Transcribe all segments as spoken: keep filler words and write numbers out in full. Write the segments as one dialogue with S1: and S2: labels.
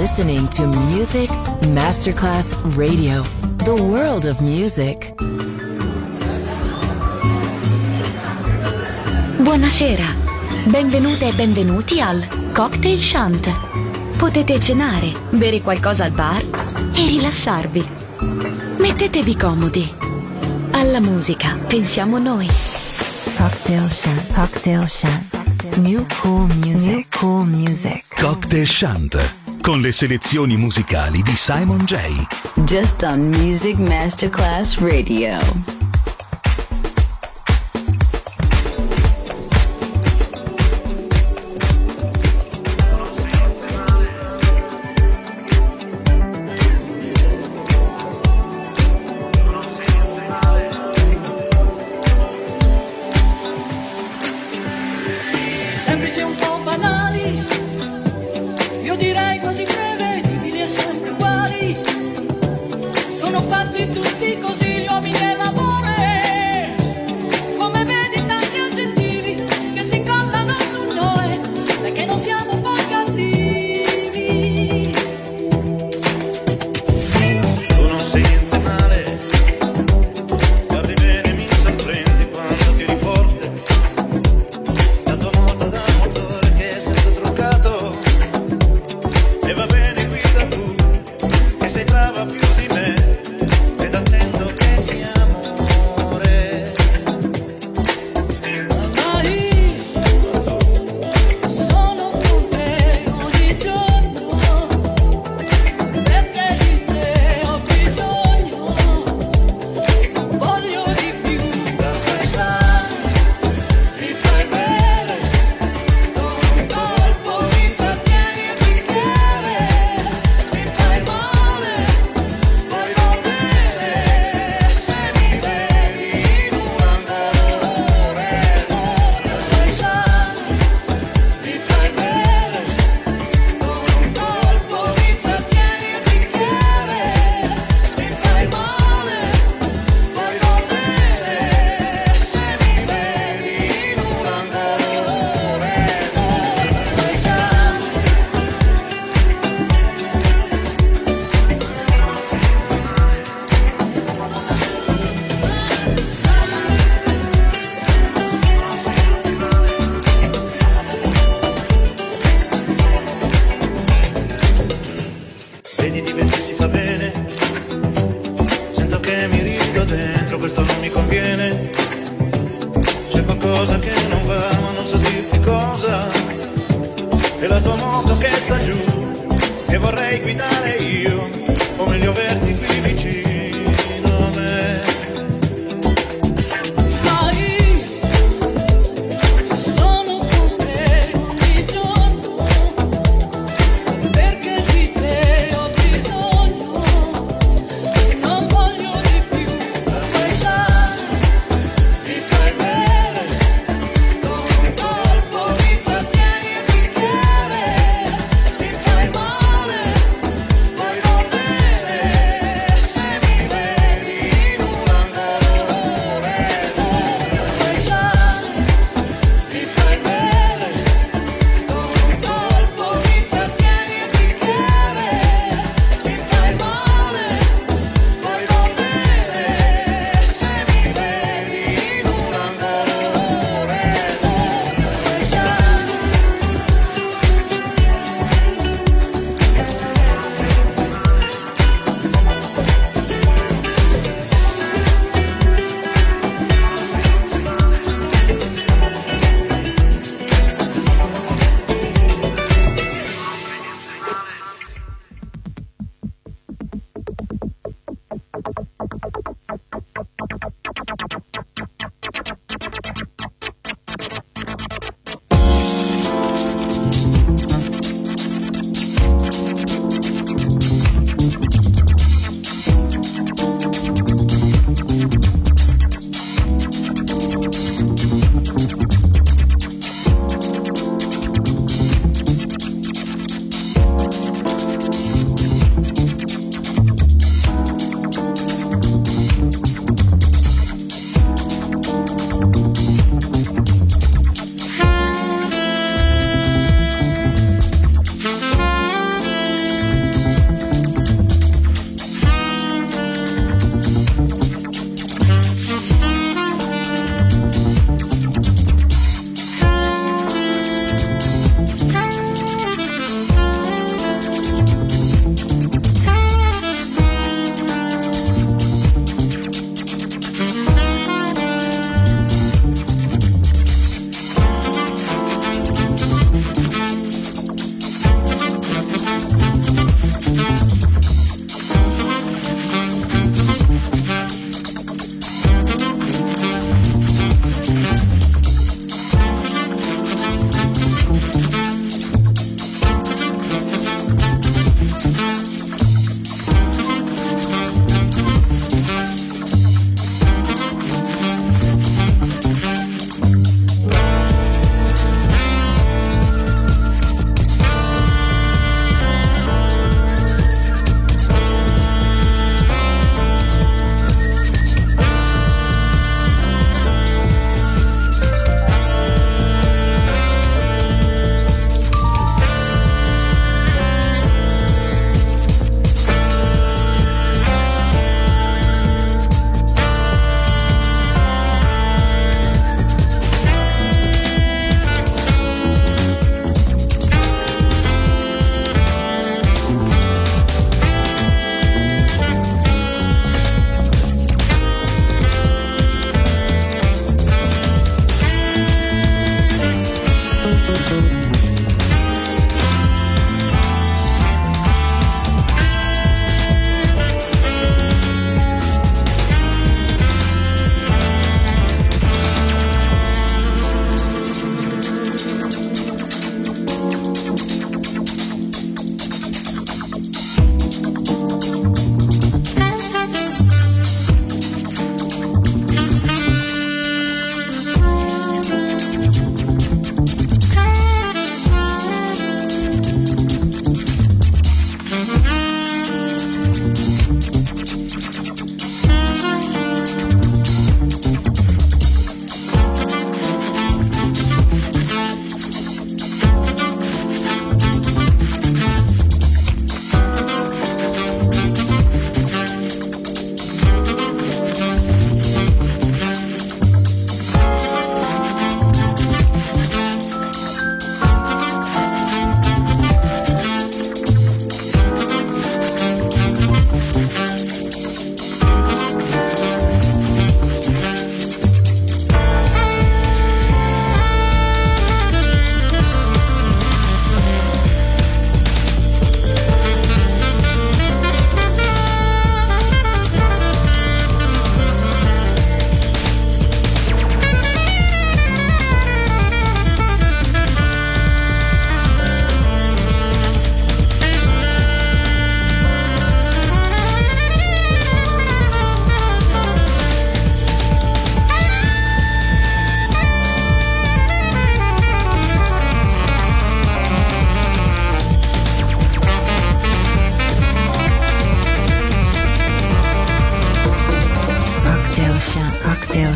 S1: listening to Music Masterclass Radio, the world of music.
S2: Buonasera, benvenute e benvenuti al Cocktail Shant. Potete cenare, bere qualcosa al bar e rilassarvi. Mettetevi comodi. Alla musica pensiamo noi.
S3: Cocktail Shant, Cocktail Shant. New cool music, New cool music.
S4: Cocktail Shant, con le selezioni musicali di Simon J.
S5: Just on Music Masterclass Radio.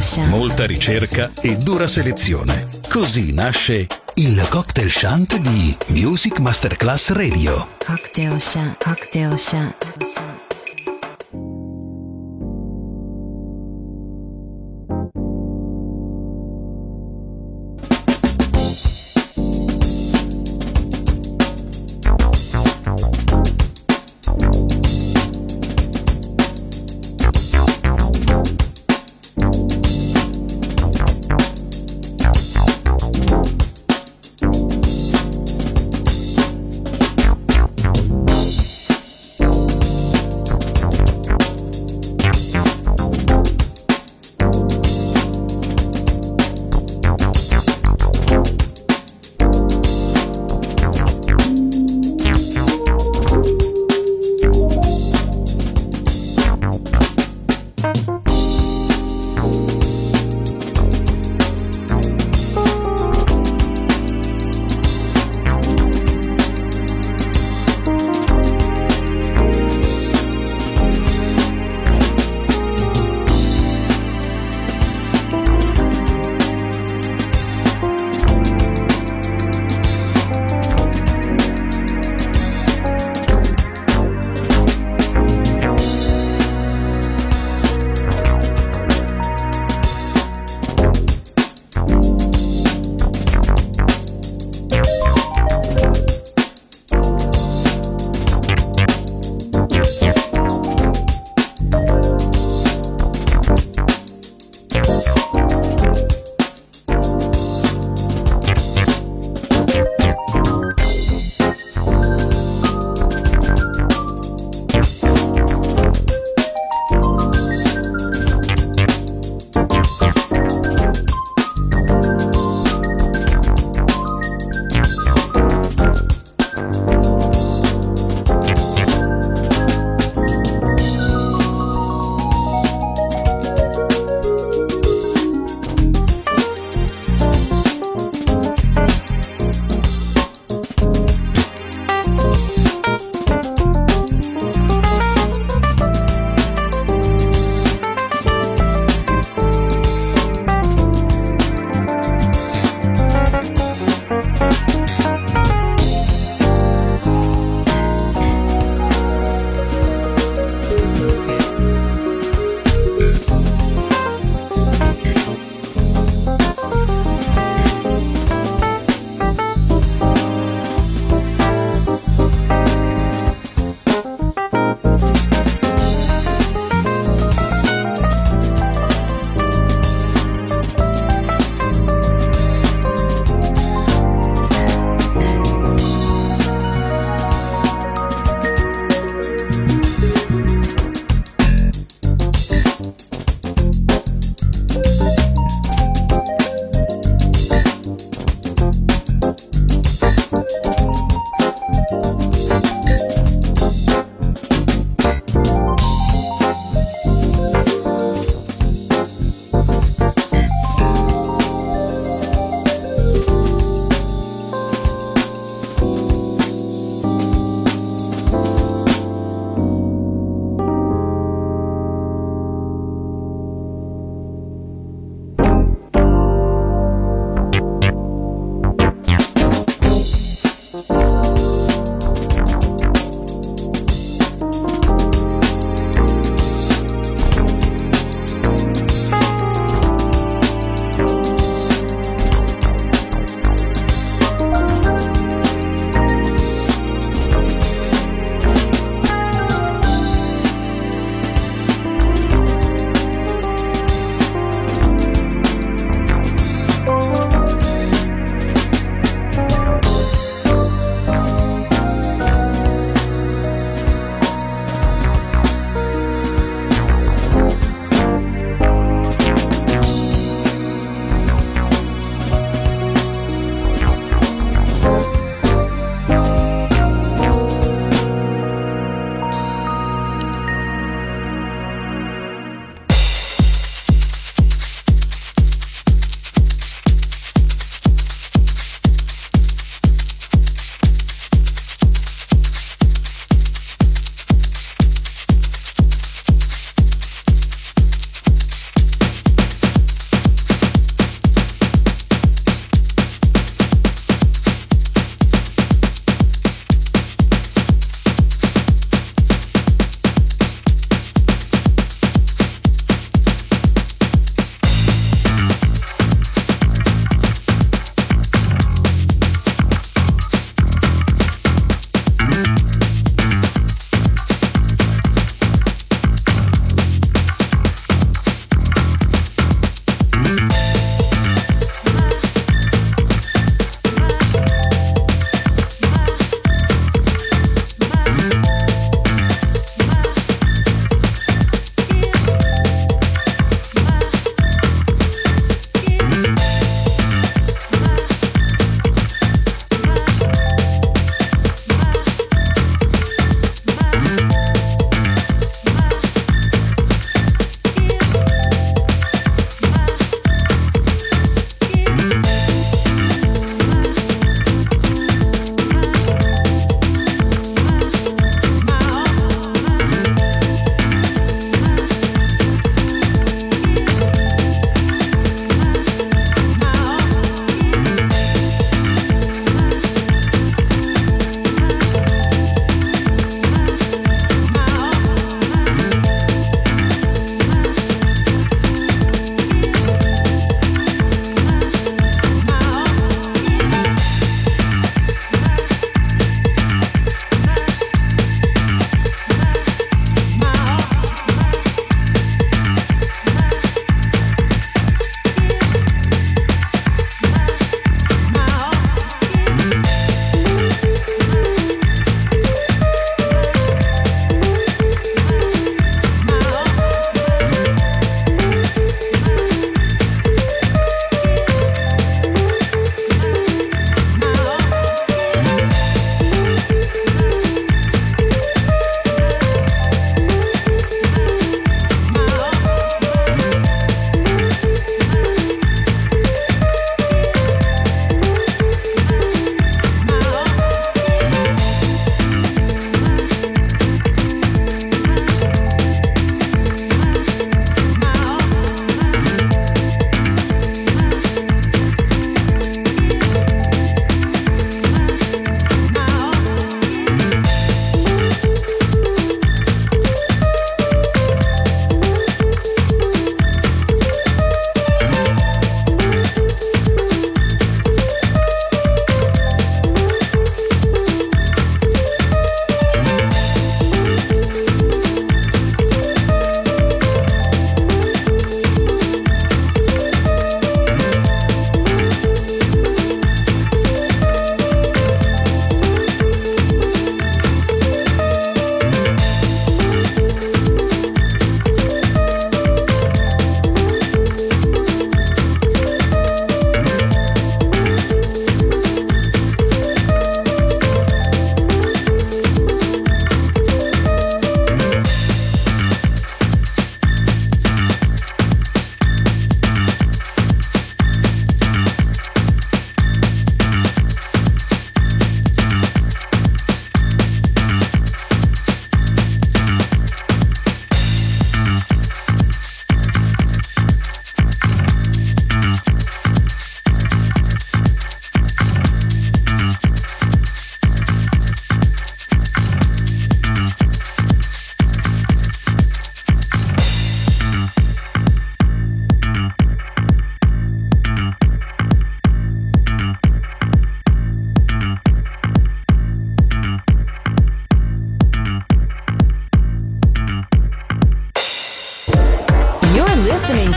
S3: Chant.
S4: Molta ricerca e dura selezione. Così nasce il Cocktail Chant di Music Masterclass Radio.
S3: Cocktail Chant. Cocktail Chant.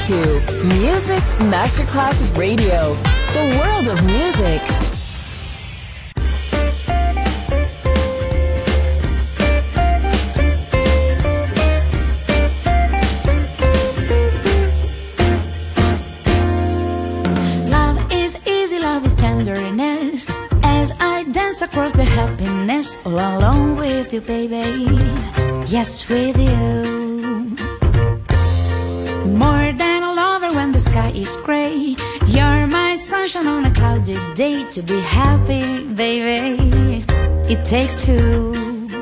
S1: to Music Masterclass Radio, the world of music.
S6: Tenderness as I dance across the happiness all alone with you, baby. Yes, with you. More than a lover when the sky is gray. You're my sunshine on a cloudy day. To be happy, baby, it takes two.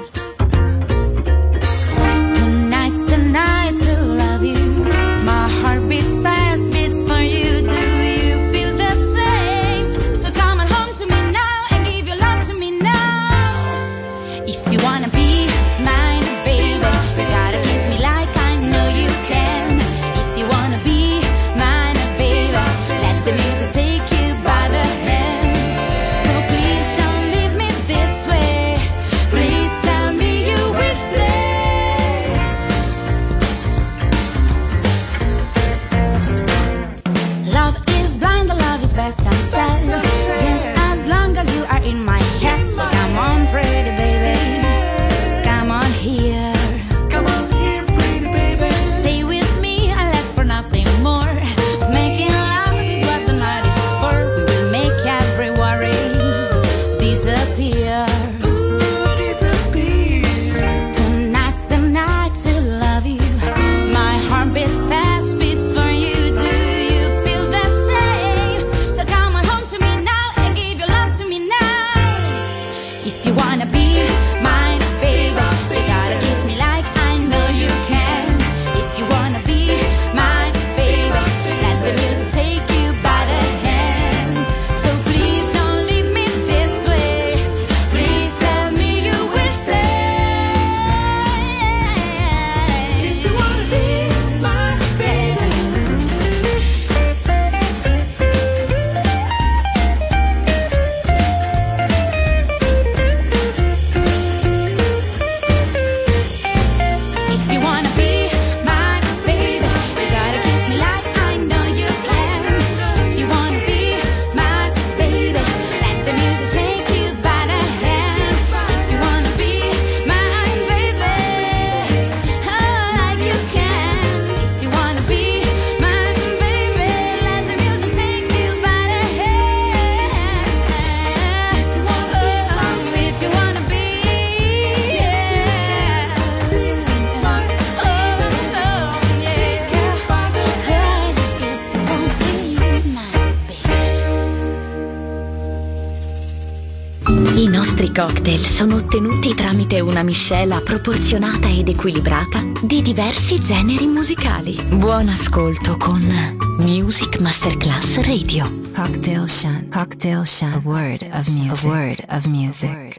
S6: Tonight's the night to love you. My heart beats fast, beats for you. Do you feel the same? So come on home to me now and give your love to me now. If you wanna be mine, baby, you gotta kiss me like I know you can. If you wanna be mine, baby, let the music take you by the hand. So please don't leave me this way. Please tell me you will stay. Love is blind, the love is best unsaid. Just as long as you are in my head. So come on, pretty baby, come on here. Come on here, pretty baby. Stay with me and last for nothing more. Making love is what the night is for. We will make every worry disappear. Tonight's the night to love you. My heart beats fast, beats for you. Do you feel the same? So come on home to me now and give your love to me now. If you wanna be mine, baby, you gotta kiss me like I know you can. If you wanna be mine, baby, let the music take you by the hand. So please don't leave me this way. Please tell me you will stay. If you wanna be mine, baby. If you wanna be mine, baby, you gotta kiss me like I know you can. If you wanna be mine, baby, let the music take you by the hand. If you wanna be mine, baby, oh, like you can. If you wanna be mine, baby, let the music take you by the hand. Oh, if you wanna be, yeah. Oh, oh, yeah. If you wanna be mine, baby.
S2: I nostri cocktail sono ottenuti tramite una miscela proporzionata ed equilibrata di diversi generi musicali. Buon ascolto con Music Masterclass Radio.
S3: Cocktail Shant. Cocktail Shant. A word of music. A word of music.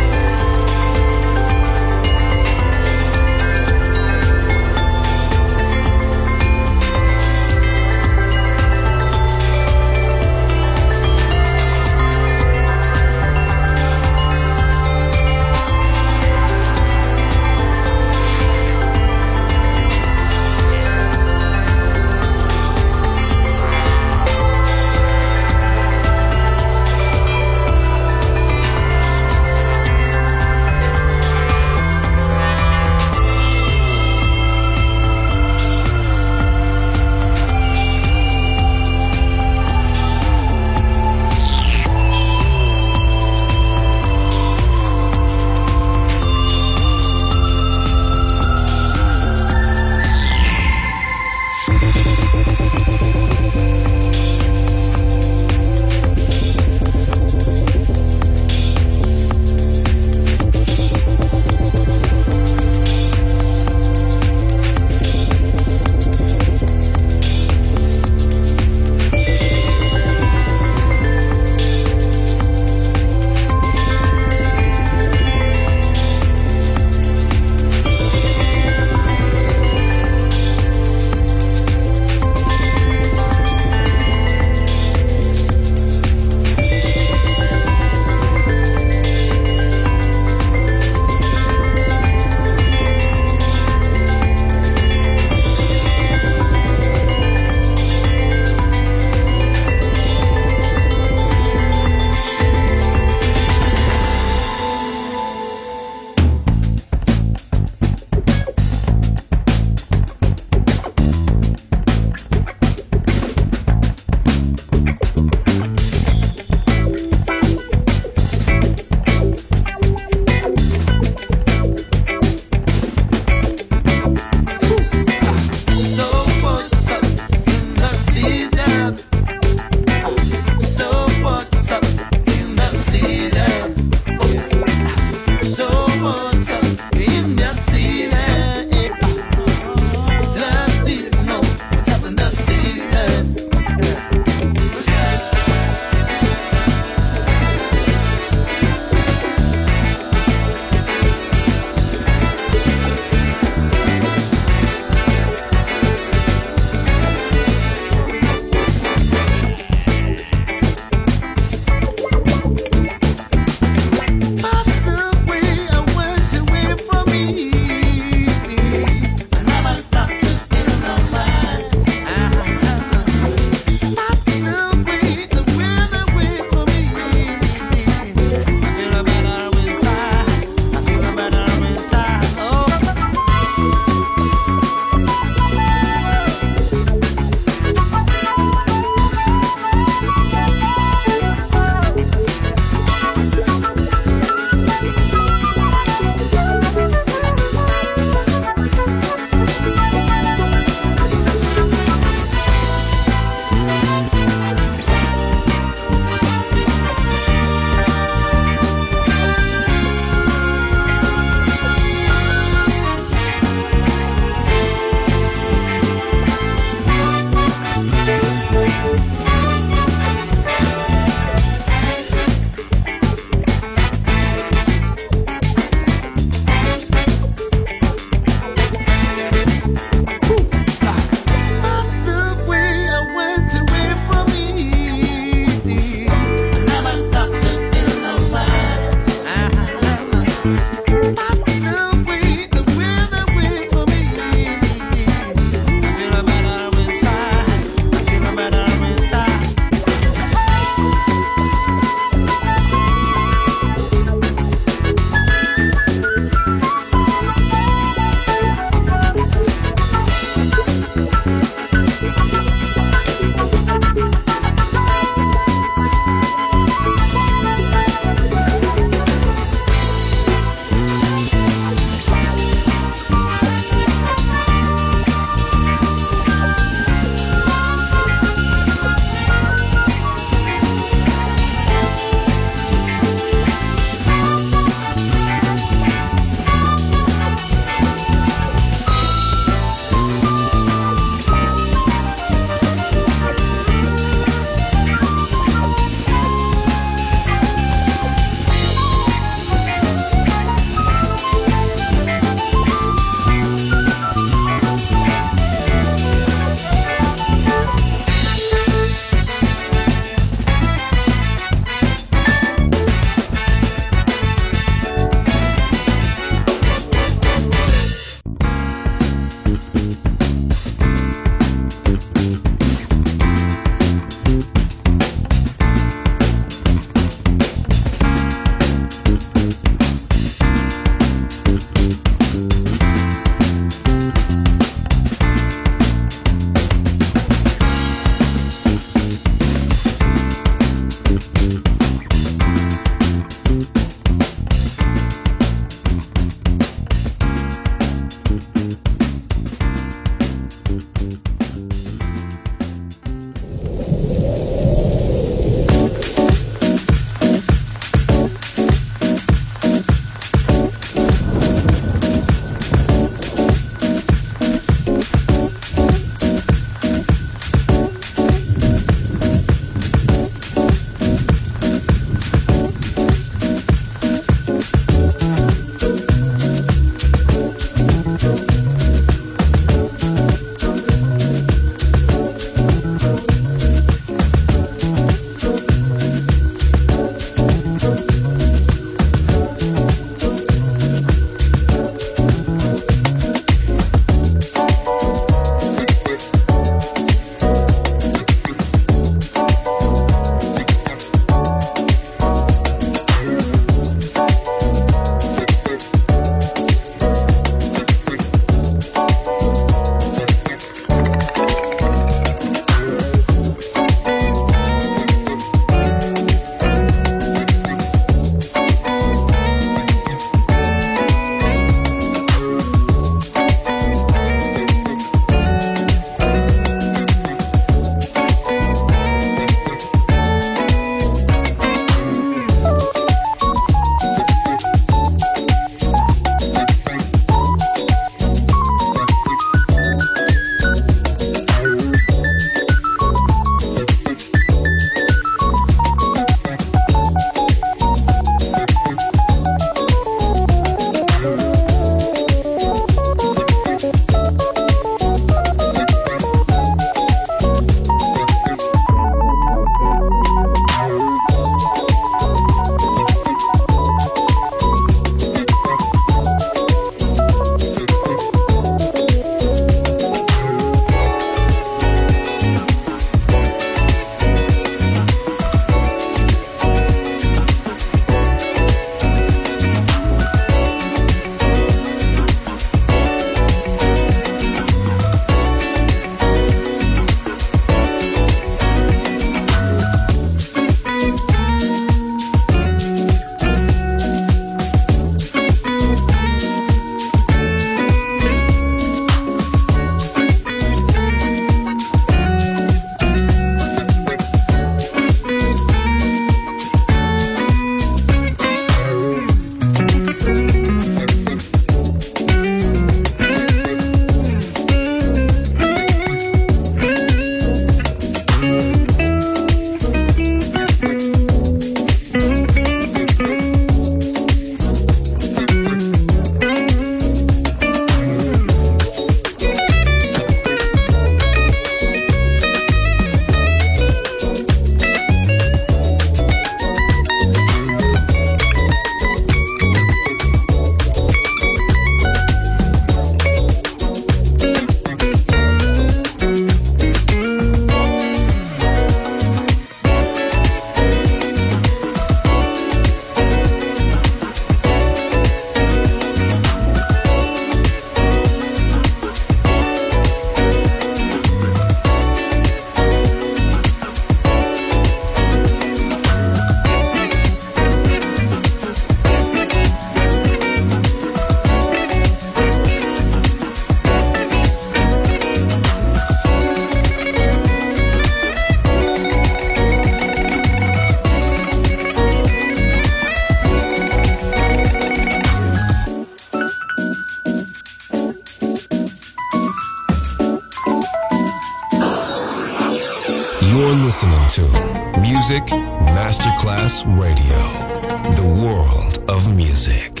S7: You're listening to Music Masterclass Radio, the world of music.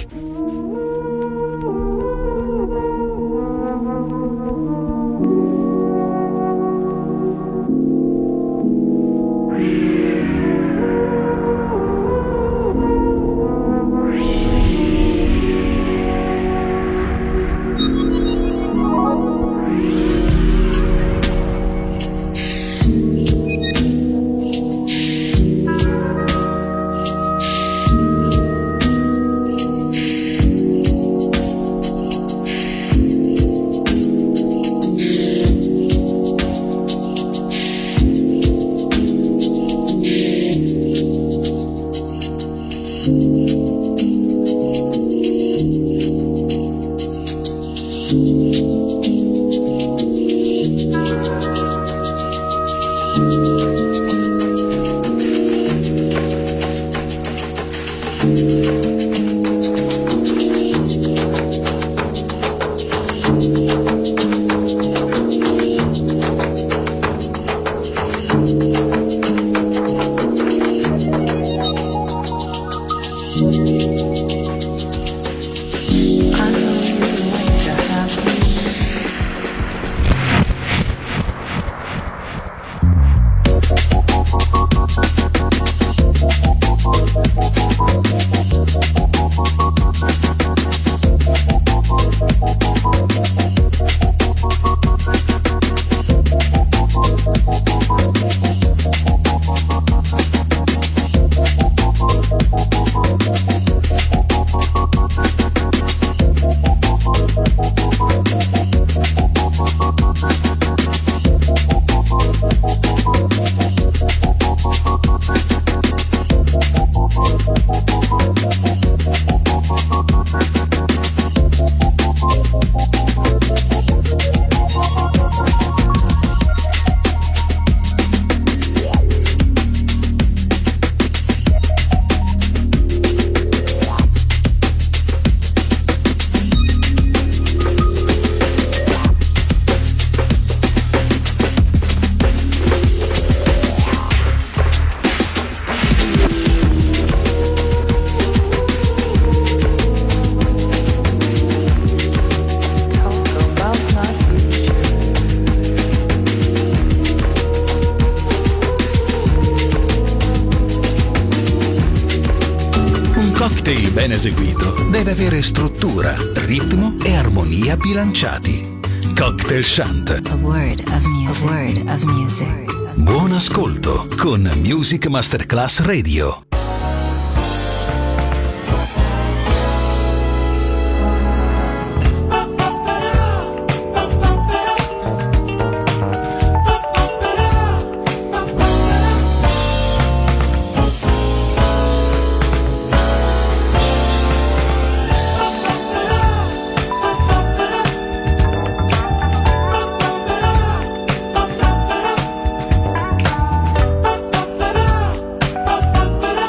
S4: Ben eseguito deve avere struttura, ritmo e armonia bilanciati. Cocktail Chant.
S3: A word of music. A word of music.
S4: Buon ascolto con Music Masterclass Radio.
S8: Ba-ba-da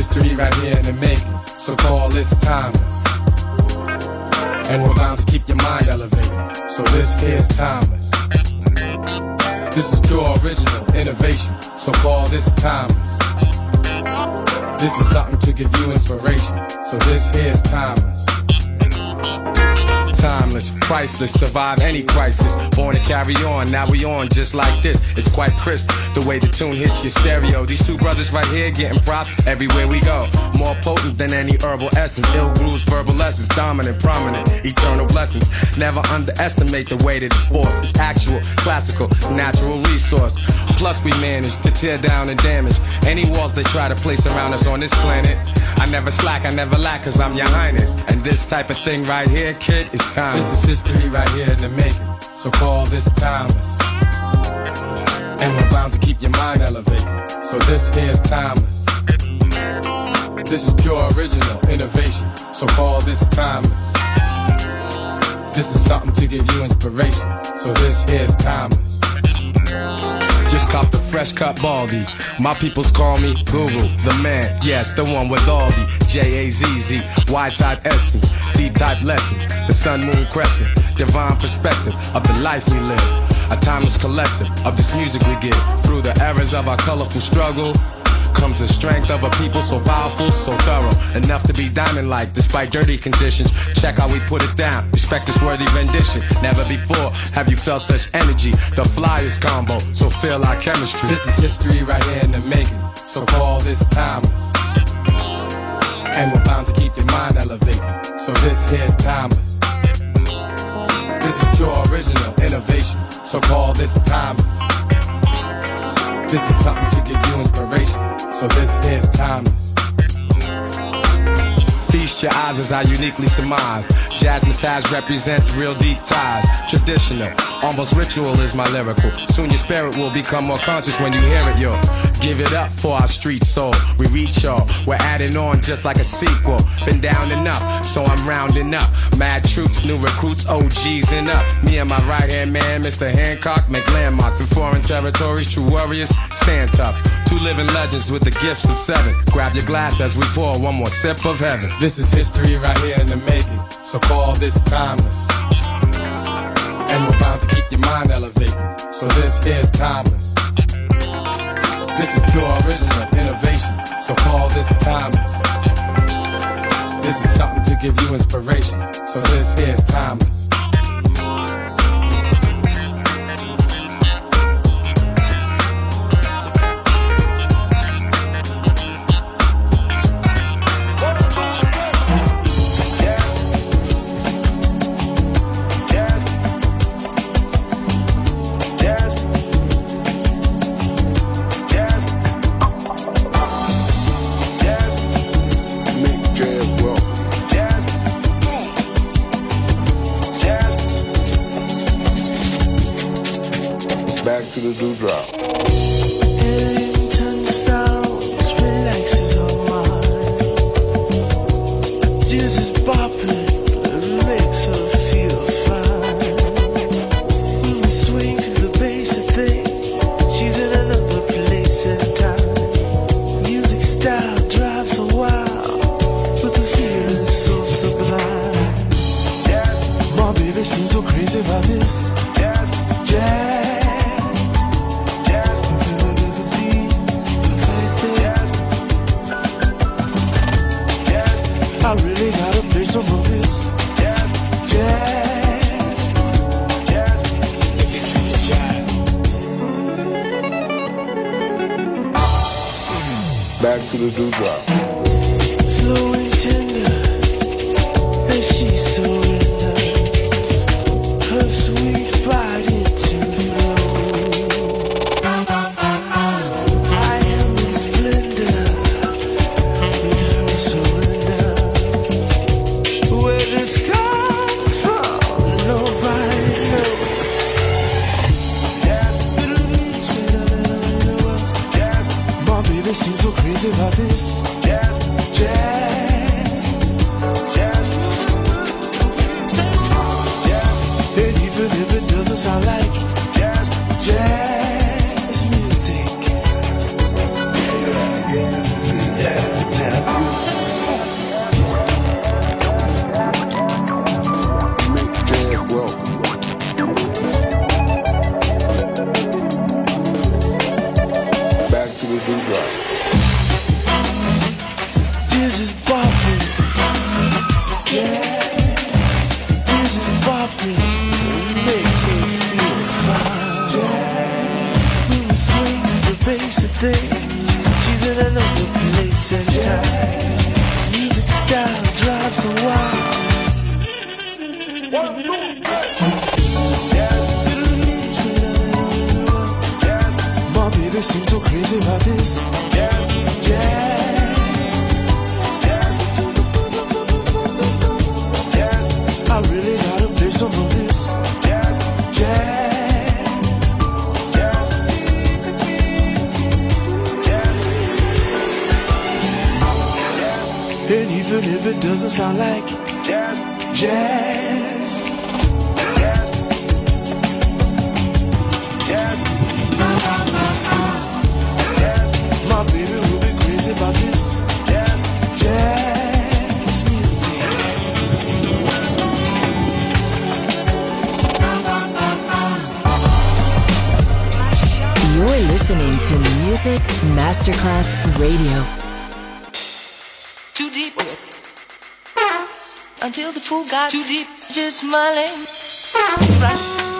S8: history right here in the making, so call this timeless. And we're bound to keep your mind elevated, so this here's timeless. This is pure original innovation, so call this timeless. This is something to give you inspiration, so this here's timeless. Timeless, priceless, survive any crisis. Born to carry on, now we on just like this. It's quite crisp, the way the tune hits your stereo. These two brothers right here getting props everywhere we go. More potent than any herbal essence. Ill grooves, verbal lessons, dominant, prominent, eternal blessings. Never underestimate the weight of the force. It's actual, classical, natural resource. Plus we manage to tear down and damage any walls they try to place around us on this planet. I never slack, I never lack, cause I'm your highness. And this type of thing right here, kid, is timeless. This is history right here in the making, so call this timeless. And we're bound to keep your mind elevated, so this here's timeless. This is pure original innovation, so call this timeless. This is something to give you inspiration, so this here's timeless. Just cop the fresh cut baldy. My peoples call me Guru, the man, yes, the one with all the J A Z Z, Y-type essence, D-type lessons, the sun, moon, crescent, divine perspective of the life we live, a timeless collective of this music we give. Through the errors of our colorful struggle comes the strength of a people so powerful, so thorough, enough to be diamond-like despite dirty conditions. Check how we put it down, respect this worthy rendition. Never before have you felt such energy, the flyest combo, so feel our chemistry. This is history right here in the making, so call this timeless. And we're bound to keep your mind elevated, so this here's timeless. This is pure original innovation, so call this timeless. This is something to give you inspiration, so this here's timeless. Feast your eyes as I uniquely surmise. Jazzmatazz represents real deep ties. Traditional, almost ritual is my lyrical. Soon your spirit will become more conscious when you hear it, yo. Give it up for our street soul. We reach y'all, we're adding on just like a sequel. Been down enough, so I'm rounding up. Mad troops, new recruits, O Gs and up. Me and my right hand man, Mister Hancock, make landmarks in foreign territories. True warriors, stand tough. Two living legends with the gifts of seven. Grab your glass as we pour one more sip of heaven. This is history right here in the making, so call this timeless. And we're bound to keep your mind elevated, so this here's timeless. This is pure original innovation, so call this timeless. This is something to give you inspiration, so this here's timeless.
S9: To the dewdrop. Back to the dewdrop.
S10: Slow and tender, as she surrenders her sweet body to flow. I am in splendor with her surrender. Where this comes from, nobody knows. My baby seems so crazy about this. Jazz, jazz, jazz, jazz. And even if it doesn't sound like jazz, jazz music. Jazz, jazz.
S9: dewdrop.
S10: This is popping. Yeah. This is popping. It makes me feel fine. Yeah. When we swing to the basic thing, she's in another place and time. Music style drives her wild. One, two, my baby seems so crazy about this. Jazz, jazz, jazz. I really gotta play some of this. Jazz, jazz, jazz. And even if it doesn't sound like jazz, jazz, jazz, jazz. My baby will be crazy about this jazz, jazz music.
S1: You're listening to Music Masterclass Radio.
S11: Too deep until the pool got too deep. Just smiling. Right.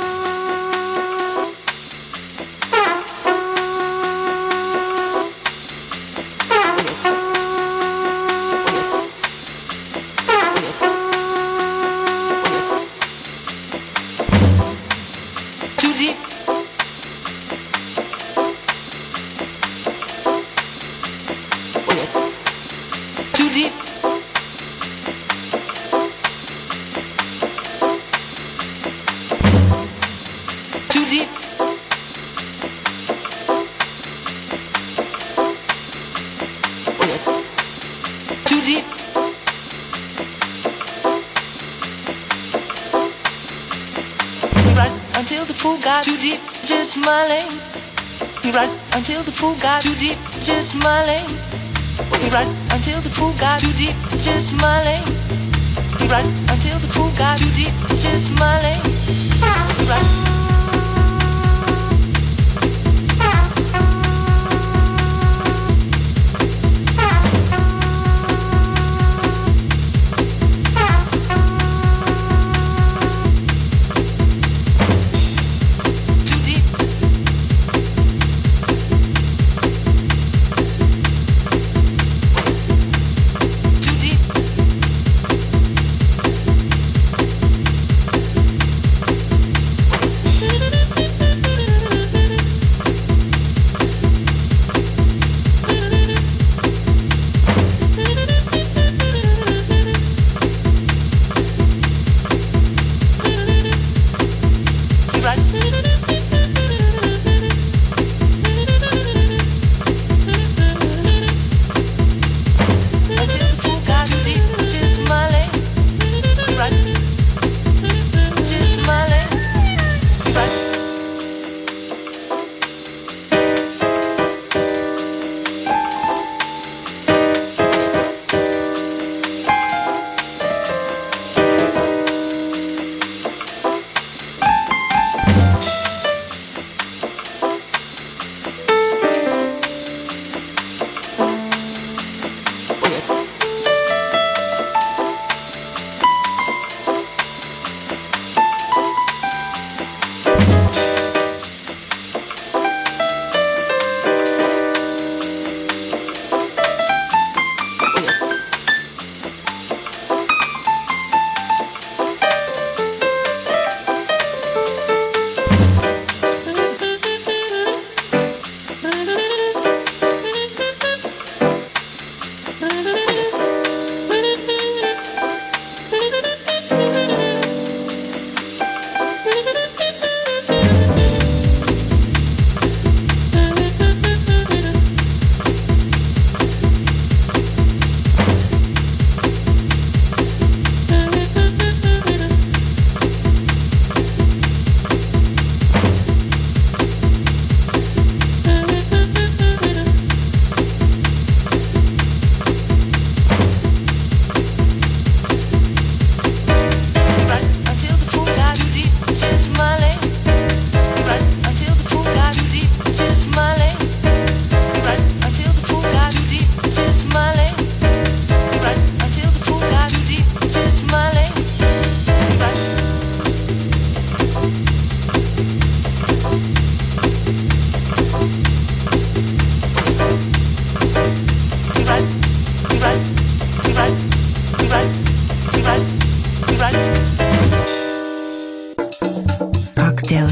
S11: Too deep, just smiling. We right until the pool got too deep, just smiling. We right until the pool got too deep, just smiling. We right until the pool got too deep, just smiling. We right.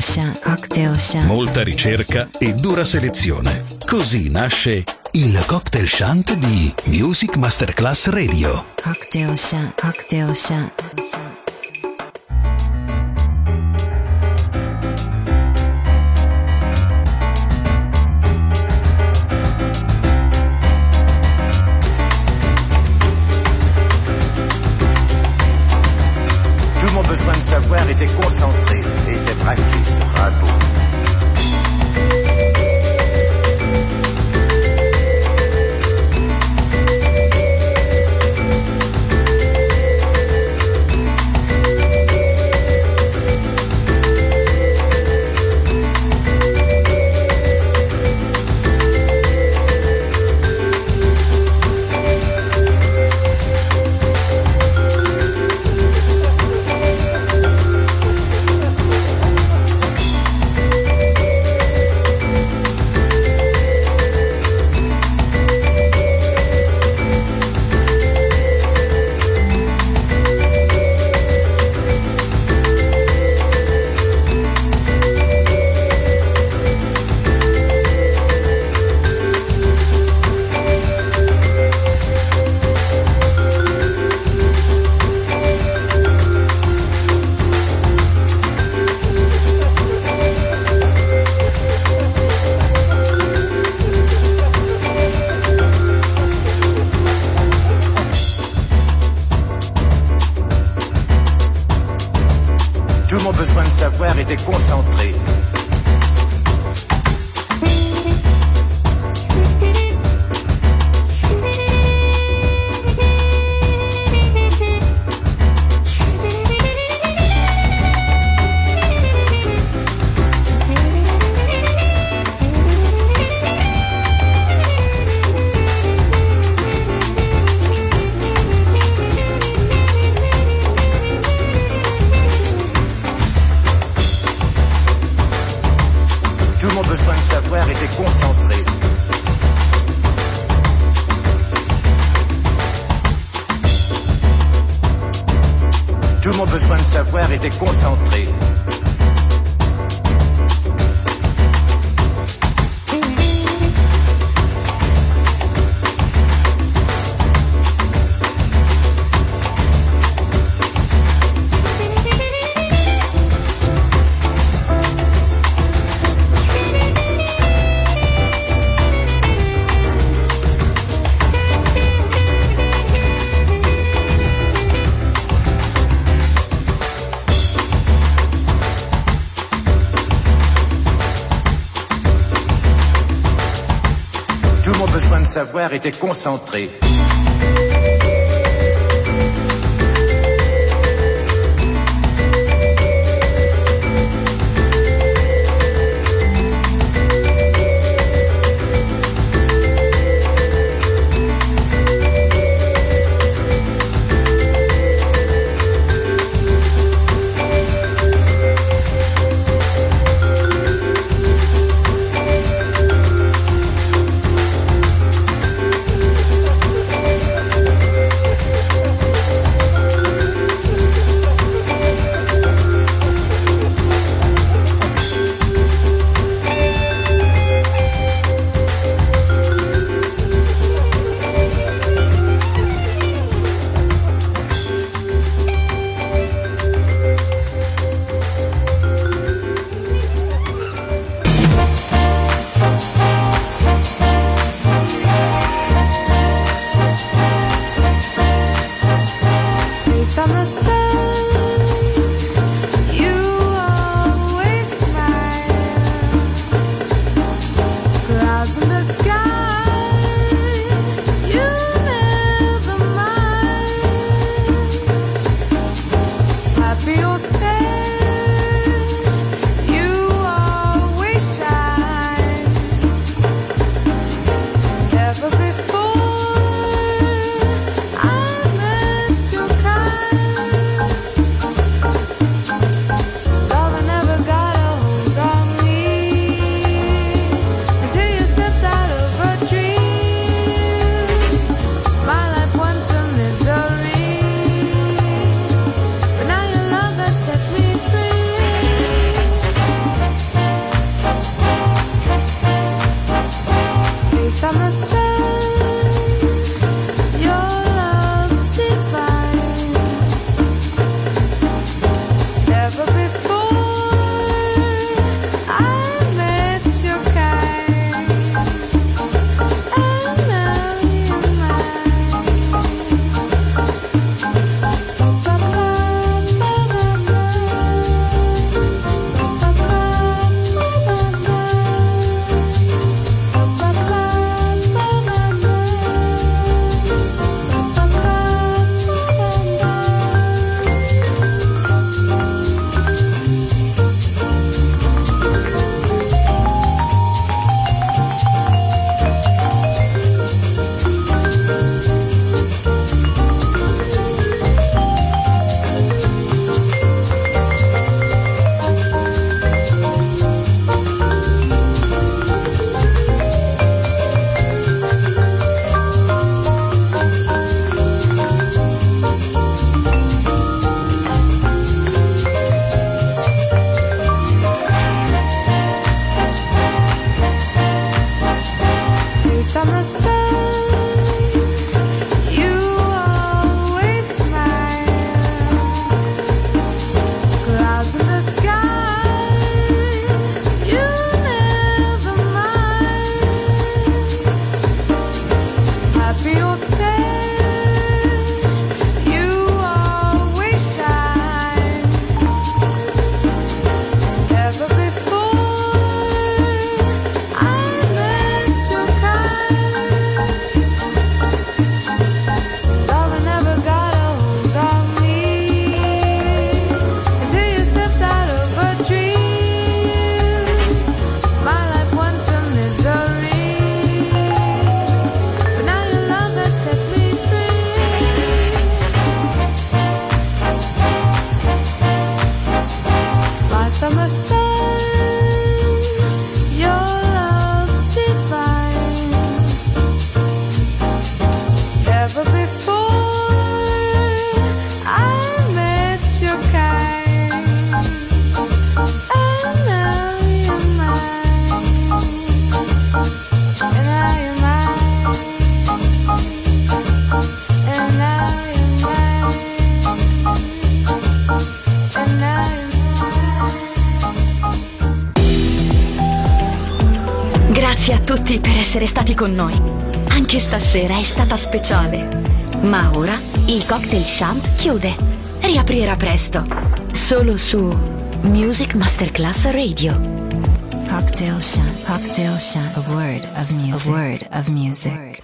S3: Chant, Cocktail Chant.
S4: Molta ricerca e dura selezione. Così nasce il Cocktail Chant di Music Masterclass Radio.
S3: Cocktail Chant, Cocktail Chant.
S12: Tout mon besoin de savoir était concentré et était braqué sur Rimbaud. Tout mon besoin de savoir était concentré. Tout mon besoin de savoir était concentré. Tout mon besoin de savoir était concentré. Tout mon besoin de savoir était concentré.
S13: Summer sun, your love's divine. Never before I met your kind, and now you're mine. Ba ba ba ba ba, ba ba ba ba ba. Summer sun, you always smile. Clouds in the sky, you never mind. Happy or sad, you always shine. Never before I met your kind. Summer sun, your love's divine. Never before I met your kind, and now you're mine, and now you're mine, and now you're mine, and now you're
S2: Grazie a tutti per essere stati con noi. Anche stasera è stata speciale. Ma ora il Cocktail Shant chiude. Riaprirà presto. Solo su Music Masterclass Radio.
S3: Cocktail Shant. Cocktail Shant. A word of music. A word of music.